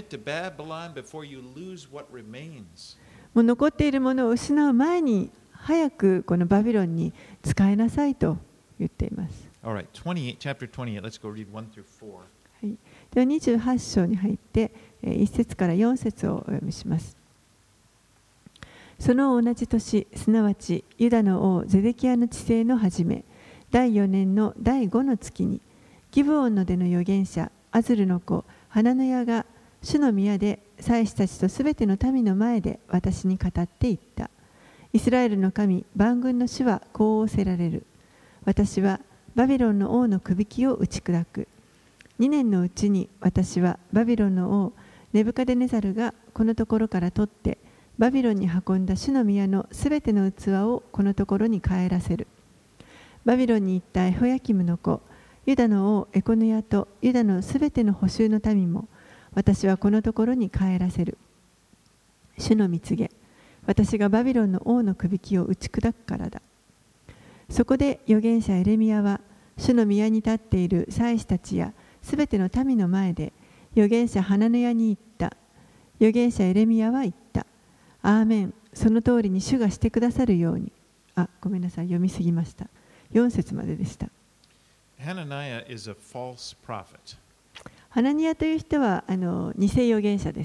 もう残っているものを失う前に早くこのバビロンに仕えなさいと言っています。 Alright, 28, chapter 28. Let's go read 1 through 4. はい。では28章に入って1節から4節をお読みします。その同じ年、すなわちユダの王ゼデキヤの治世の初め、第4年の第5の月に、ギブオンの出の預言者アズルの子ハナヌヤが主の宮で祭司たちとすべての民の前で私に語って言った。イスラエルの神万軍の主はこう仰せられる。私はバビロンの王の首輝を打ち砕く。2年のうちに私はバビロンの王ネブカデネザルがこのところから取ってバビロンに運んだ主の宮のすべての器をこのところに帰らせる。バビロンに行ったエホヤキムの子ユダの王エコヌヤとユダのすべての捕囚の民も私はこのところに帰らせる。主の御告げ、私がバビロンの王の首輝を打ち砕くからだ。そこで預言者エレミヤは主の宮に立っている祭司たちやすべての民の前で預言者ハナヌヤに言った。預言者エレミヤは言った。アーメン。その通りに主がしてくださるように。ごめんなさい、読みすぎました。4節まででした。 ハナニヤという人は偽預言者です。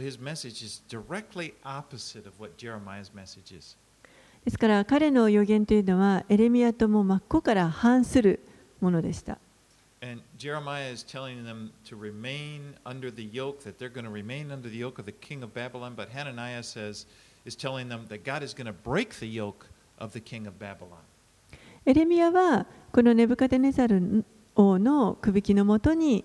ですから彼の預言というのはエレミヤとも真っ向から反するものでした。 And Jeremiah is telling them to remain under the yoke, that they're going to remain under the yoke of the king of Babylon. But Hananiah is telling them that God is going to break the yoke of the king of Babylon. エレミヤはこのネブカデネザル王の首輝のもとに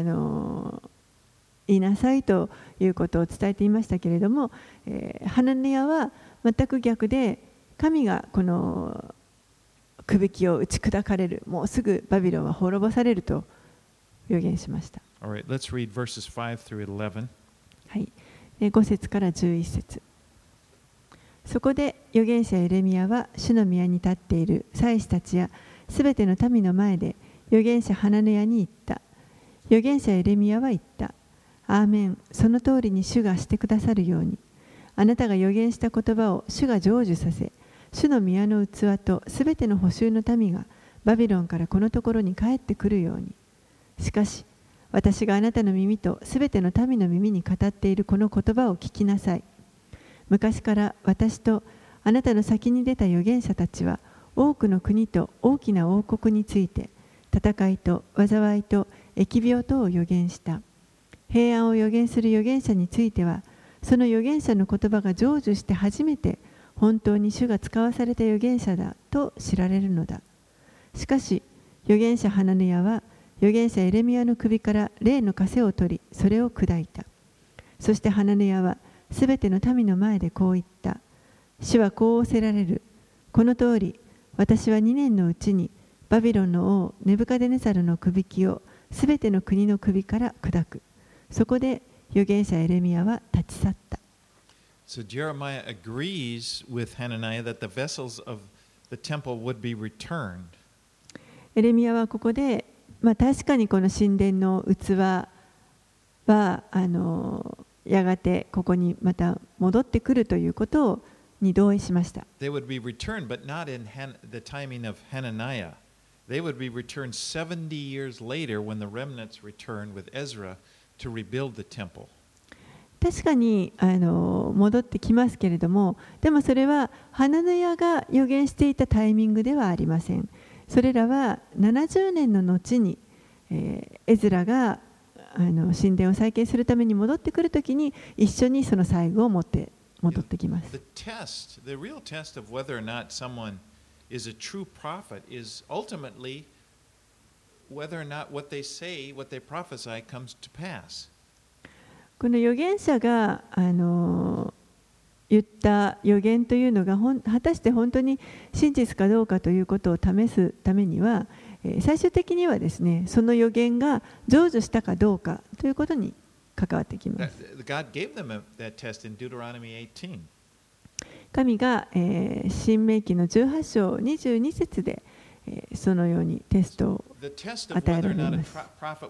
いなさいということを伝えていましたけれども、ハナニヤは全く逆で、神がこの首輝を打ち砕かれる、もうすぐバビロンは滅ぼされると予言しました。 Alright, let's read verses 5 through 11. はい、5節から11節。そこで預言者エレミヤは主の宮に立っている祭司たちやすべての民の前で預言者ハナヌヤに言った。預言者エレミヤは言った。アーメン。その通りに主がしてくださるように。あなたが預言した言葉を主が成就させ、主の宮の器とすべての捕囚の民がバビロンからこのところに帰ってくるように。しかし、私があなたの耳とすべての民の耳に語っているこの言葉を聞きなさい。昔から私とあなたの先に出た預言者たちは多くの国と大きな王国について戦いと災いと疫病とを預言した。 平安を預言する預言者については、その預言者の言葉が成就して初めて本当に主が使わされた預言者だと知られるのだ。しかし預言者ハナヌヤは預言者エレミヤの首から霊の枷を取り、それを砕いた。そしてハナヌヤはすべての民の前でこう言った。主はこう仰せられる。この通り、私は2年のうちにバビロンの王ネブカデネザルの首輝をすべての国の首から砕く。そこで預言者エレミヤは立ち去った。 So Jeremiah agrees with Hananiah that the vessels of the temple would be returned. エレミヤはここで、確かにこの神殿の器はやがてここにまた戻ってくるということに同意しました。 They would be returned, but not in the timing of Hananiah. They would be returned 70 years later when the remnants returned with Ezra to rebuild the temple. 確かに戻ってきますけれども、でもそれはハナヌヤが預言していたタイミングではありません。それらは70年の後に、エズラが神殿を再建するために戻ってくるときに一緒にその最後を持って戻ってきます。 The real test of whether or not someone is a true prophet is ultimately whether or not what they say, what they prophesy comes to pass. この預言者が言った預言というのが果たして本当に真実かどうかということを試すためには、最終的にはですね、その預言が成就したかどうかということに関わってきます。神が、申命記の18章22節で、そのようにテストを与えられます。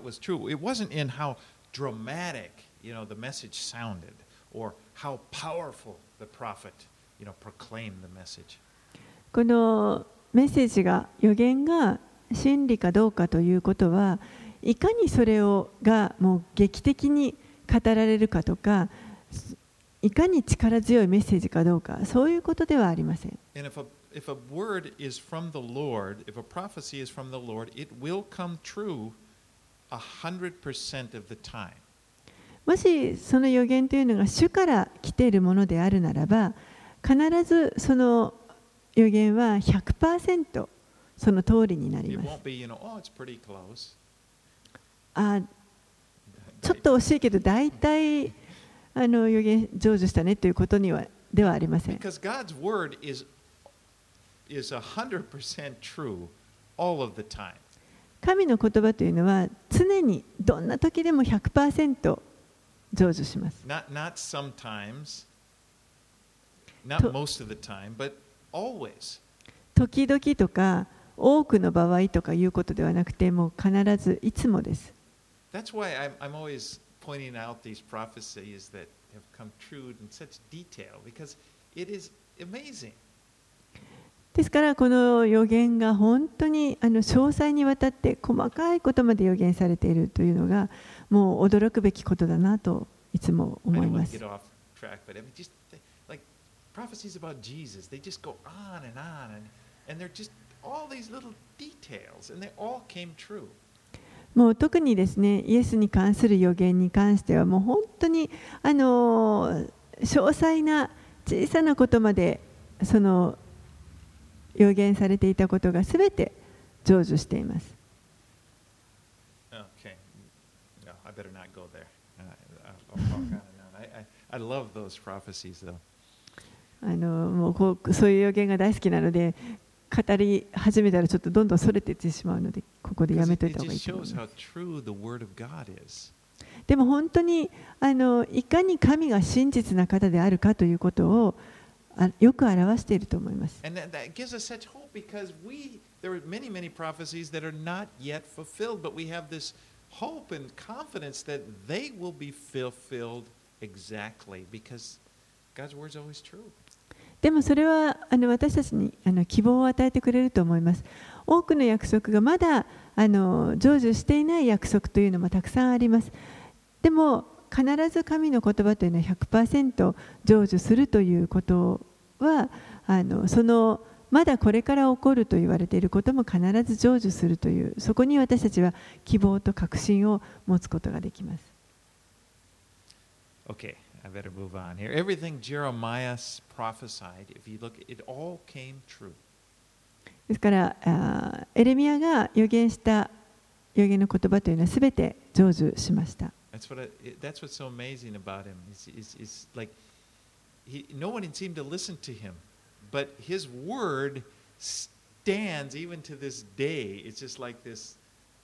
The message sounded, or how powerful the prophet, proclaimed the message. このメッセージが預言が真理かどうかということは、いかにそれがもう劇的に語られるかとか、いかに力強いメッセージかどうか、そういうことではありません。 And if a word is from the Lord, if a prophecy is from the Lord, it will come true 100% of the time. もしその預言というのが主から来ているものであるならば、必ずその預言は 100% その通りになります。ちょっと惜しいけど、大体預言成就したねということにはではありません。 Because God's word is 100% true all of the time. 神の言葉というのは常にどんな時でも 100% 成就します。 Not sometimes, not most of the time, but always. 時々とか多くの場合とかいうことではなくて、もう必ずいつもです。 That's why I'm always pointing out these prophecies that have come true in such detail, because it is amazing. ですからこの預言が本当に詳細にわたって細かいことまで預言されているというのがもう驚くべきことだなといつも思います。もう特にですね、イエスに関する預言に関してはもう本当に詳細な小さなことまでその預言されていたことがすべて成就しています。もうそういう預言が大好きなので、語り始めたらちょっとどんどんそれていってしまうので、ここでやめといた方がいいと思います。でも本当にいかに神が真実な方であるかということをよく表していると思います。でもそれは私たちに希望を与えてくれると思います。多くの約束がまだ成就していない約束というのもたくさんあります。でも必ず神の言葉というのは 100% 成就するということはそのまだこれから起こると言われていることも必ず成就するという、そこに私たちは希望と確信を持つことができます。 Okay, I better move on here. Everything Jeremiah prophesied, if you look, it all came true. ですからエレミヤが預言した預言の言葉というのはすべて成就しました。 That's what's so amazing about him. It's like no one seemed to listen to him, but his word stands even to this day. It's just like this,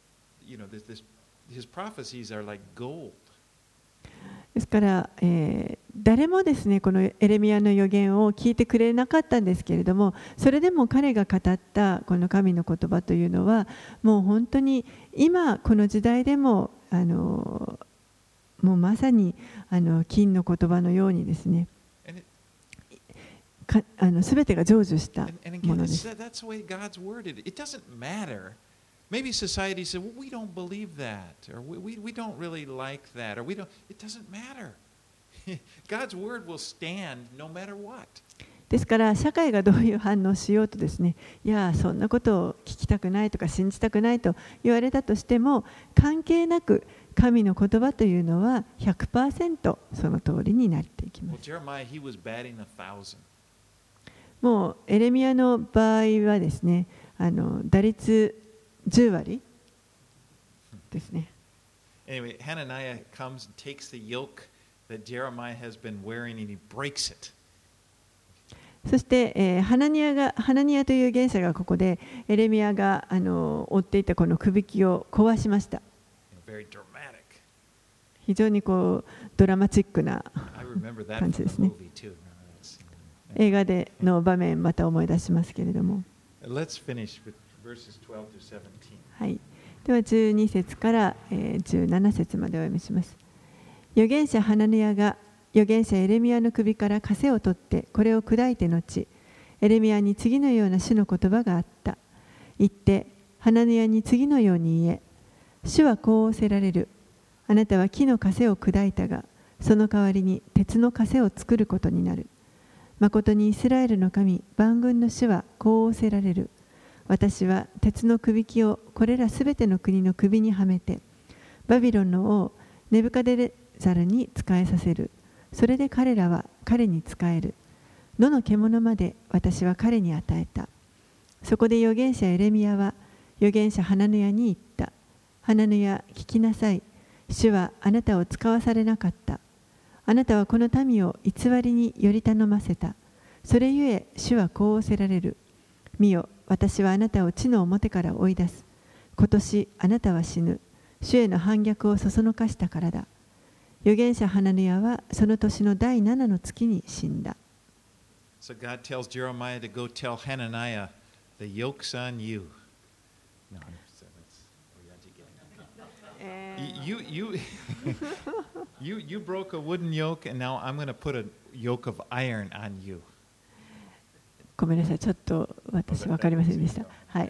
his prophecies are like gold. ですから、誰もですねこのエレミヤの預言を聞いてくれなかったんですけれども、それでも彼が語ったこの神の言葉というのはもう本当に今この時代でももうまさに金の言葉のようにですねすべてが成就したものです。 Maybe society said, well, we don't believe that, or we don't really like that, or we don't. It doesn't matter. God's word will stand no matter what. ですから社会がどういう反応しようとですね、いやそんなことを聞きたくないとか信じたくないと言われたとしても関係なく神の言葉というのは 100% その通りになっていきます。もうエレミヤの場合はですね、打率10割ですね。 Anyway, Hananiah comes and takes the yoke that Jeremiah has been wearing and he breaks it. そして、ハナニヤという元帥がここでエレミヤが追っていたこの首輝を壊しました。非常にこうドラマチックな感じですね。映画での場面また思い出しますけれども。はい、では12節から17節までお読みします。預言者ハナニヤが預言者エレミヤの首から枷を取ってこれを砕いて後、エレミヤに次のような主の言葉があった。言ってハナニヤに次のように言え、主はこう仰せられる。あなたは木の枷を砕いたが、その代わりに鉄の枷を作ることになる。まことにイスラエルの神、万軍の主はこう仰せられる。私は鉄の首輝をこれらすべての国の首にはめて、バビロンの王ネブカデレザルに仕えさせる。それで彼らは彼に仕える。野の獣まで私は彼に与えた。そこで預言者エレミヤは預言者ハナニヤに言った。ハナニヤ、聞きなさい。主はあなたを使わされなかった。あなたはこの民を偽りにより頼ませた。それゆえ主はこう仰せられる。見よ、私はあなたを地の表から追い出す。今年あなたは死ぬ。主への反逆をそそのかしたからだ。預言者ハナニヤはその年の第7の月に死んだ。 So God tells Jeremiah to go tell Hananiah, the yoke's on you. No, you broke a wooden yoke, and now I'm going to put a yoke of iron on you. ごめんなさい、ちょっと私分かりませんでした。はい。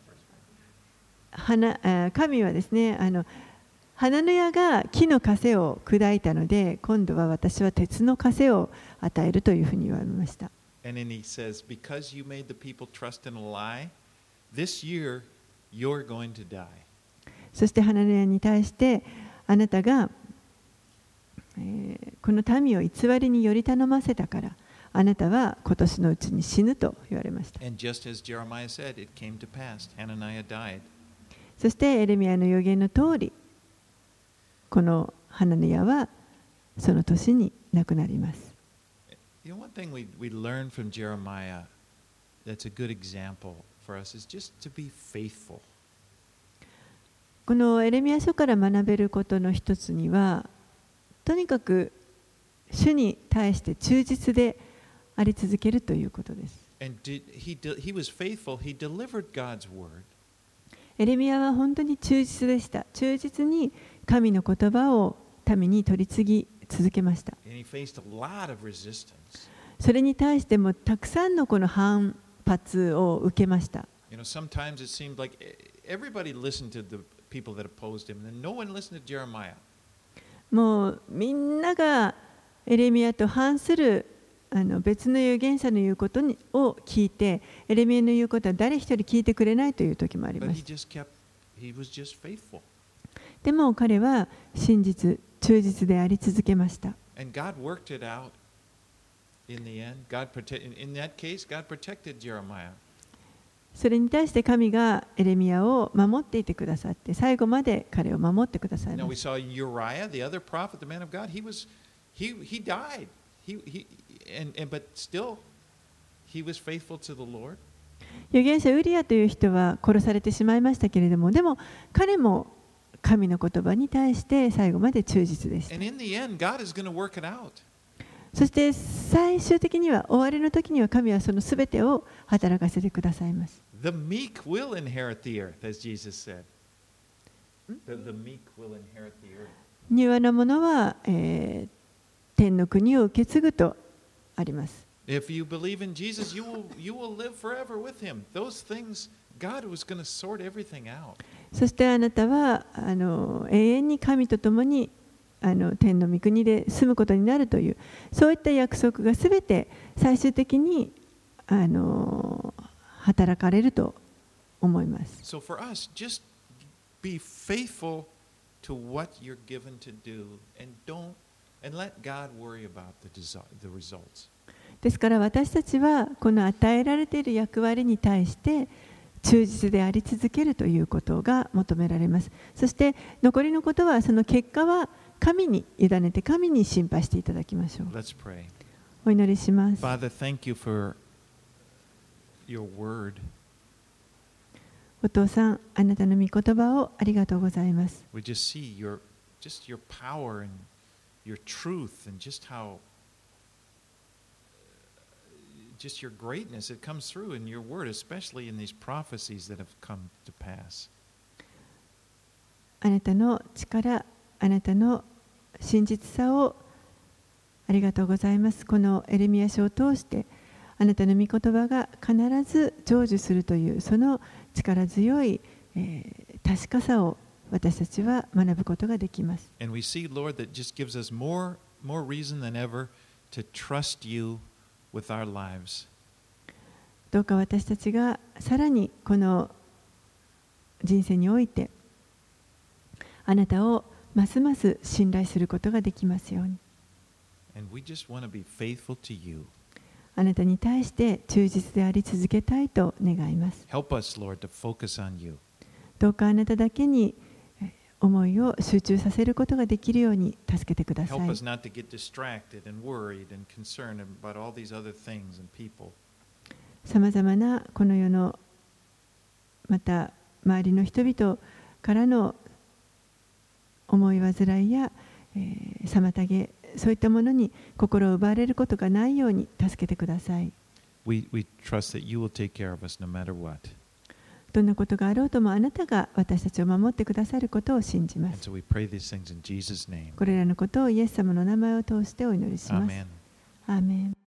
神はですね、ハナニヤが木の枷を砕いたので、今度は私は鉄の枷を与えるというふうに言われました。 And then he says, because you made the people trust in a lie, this year you're going to die. そしてハナニヤに対して、あなたが、この民を偽りにより頼ませたから、あなたは今年のうちに死ぬと言われました。 And just as Jeremiah said, it came to pass. Hananiah died. そしてエレミヤの預言の通り、このハナニヤはその年に亡くなります。 You know, one thing we learn from Jeremiah that's a good example for us is just to be faithful. このエレミヤ書から学べることの一つには、とにかく主に対して忠実であり続けるということです。 And he was faithful. He delivered God's word. エレミヤは本当に忠実でした。忠実に神の言葉を民に取り次ぎ続けました。それに対してもたくさんのこの反発を受けました。もうみんながエレミヤと反する別の預言者の言うことを聞いて、エレミヤの言うことは誰一人聞いてくれないという時もありました。でも彼は忠実であり続けました。 And God worked it out in the end. In that case, God protected Jeremiah. それに対して神がエレミヤを守っていてくださって、最後まで彼を守ってください Now ま we した。 saw Uriah, the other prophet, the man of God. He died. But still, he was faithful to the Lord. 預言者ウリアという人は殺されてしまいましたけれども、でも彼も神の言葉に対して最後まで忠実でした。 And in the end, God is going to work it out. そして最終的には、終わりの時には神はそのすべてを働かせてくださいます。 The meek will inherit the earth, as Jesus said. The meek will inherit the earth. 柔和な者は、天の国を受け継ぐとあります。 If you believe in Jesus, you will live forever with him. Those things, God was going to sort everything out. そしてあなたは永遠に神と共に天の御国で住むことになるという、そういった約束がすべて最終的に働かれると思います。 So for us, just be faithful to what you're given to do, and let God worry about the results. ですから私たちはこの与えられている役割に対して忠実であり続けるということが求められます。そして残りのことは、その結果は神に委ねて、神に心配していただきましょう。 Let's pray. お祈りします。 Father, thank you for your word. お父さん、あなたの御言葉をありがとうございます。 We just see your power and your truth and just your greatness. It comes through in your word, especially in these prophecies that have come to pass. あなたの力、あなたの真実さをありがとうございます。このエレミヤ書を通して、あなたの御言葉が必ず成就するという、その力強い、確かさを私たちは学ぶことができます。 And we see, Lord, that just gives us more reason than ever to trust you with our lives. どうか私たちがさらにこの人生においてあなたをますます信頼することができますように。 And we just want to be faithful to you. あなたに対して忠実であり続けたいと願います。 Help us, Lord, to focus on you. どうかあなただけに思いを集中させることができるように助けてください。 Help us not to get distracted and worried and concerned about all these other things and people. さまざまなこの世のまた周りの人々からの思い煩いや、妨げ、そういったものに心を奪われることがないように助けてください。 We trust that you will take care of us no matter what. どんなことがあろうともあなたが私たちを守ってくださることを信じま And す。 so we pray these things in Jesus' name. これらのことをイエス様の名前を通してお祈りします。 Amen. アーメン。